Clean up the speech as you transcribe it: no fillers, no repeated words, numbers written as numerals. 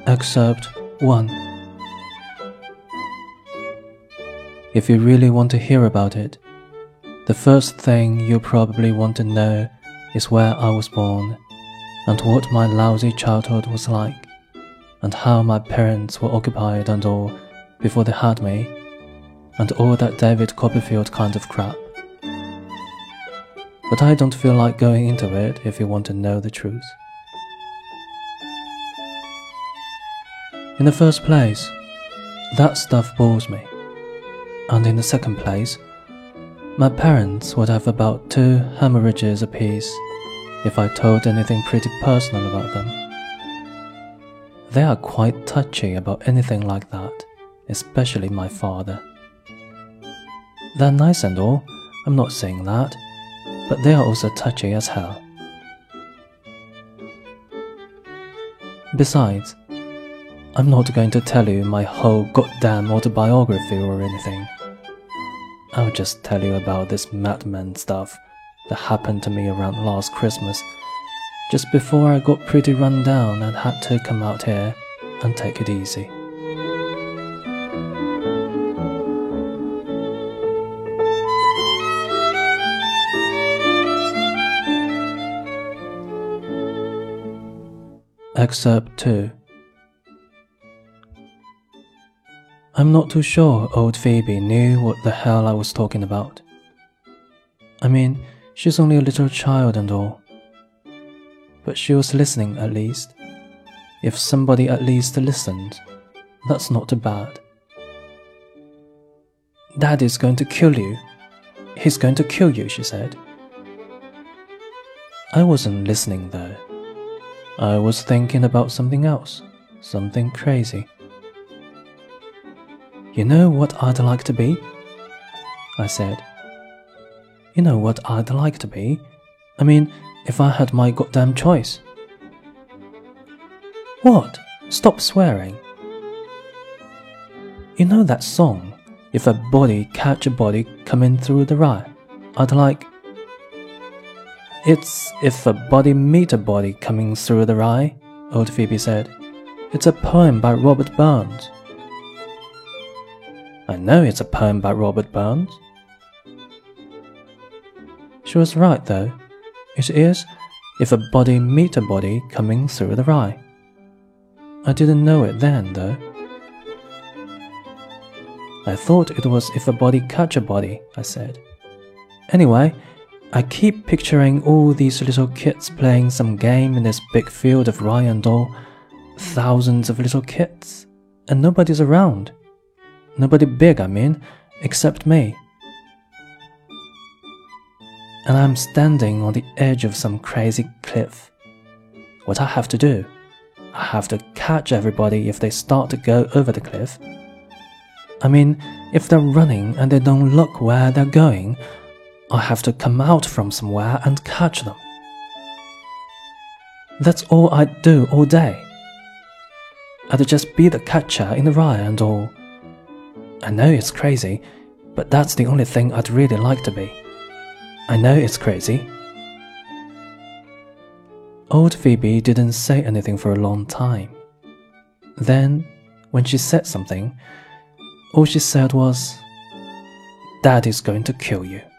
Excerpt 1. If you really want to hear about it, the first thing you probably want to know is where I was born, and what my lousy childhood was like, and how my parents were occupied and all before they had me, and all that David Copperfield kind of crap. But I don't feel like going into it if you want to know the truth. In the first place, that stuff bores me. And in the second place, my parents would have about 2 hemorrhages apiece if I told anything pretty personal about them. They are quite touchy about anything like that, especially my father. They're nice and all, I'm not saying that, but they are also touchy as hell. Besides, I'm not going to tell you my whole goddamn autobiography or anything. I'll just tell you about this madman stuff that happened to me around last Christmas, just before I got pretty run down and had to come out here and take it easy. Excerpt 2. I'm not too sure old Phoebe knew what the hell I was talking about. I mean, she's only a little child and all. But she was listening at least. If somebody at least listened, that's not too bad. Daddy's going to kill you. He's going to kill you, she said. I wasn't listening though. I was thinking about something else, something crazy. You know what I'd like to be? I said. You know what I'd like to be? I mean, if I had my goddamn choice. What? Stop swearing. You know that song, If a Body Catch a Body Coming Through the Rye? I'd like... It's If a Body Meet a Body Coming Through the Rye, old Phoebe said. It's a poem by Robert Burns. I know it's a poem by Robert Burns. She was right though. It is If a Body Meet a Body Coming Through the Rye. I didn't know it then though. I thought it was If a Body Catch a Body, I said. Anyway, I keep picturing all these little kids playing some game in this big field of rye and all. Thousands of little kids, and nobody's around. Nobody big, I mean, except me. And I'm standing on the edge of some crazy cliff. What I have to do? I have to catch everybody if they start to go over the cliff. I mean, if they're running and they don't look where they're going, I have to come out from somewhere and catch them. That's all I'd do all day. I'd just be the catcher in the rye and all. I know it's crazy, but that's the only thing I'd really like to be. I know it's crazy. Old Phoebe didn't say anything for a long time. Then, when she said something, all she said was, "Daddy's going to kill you."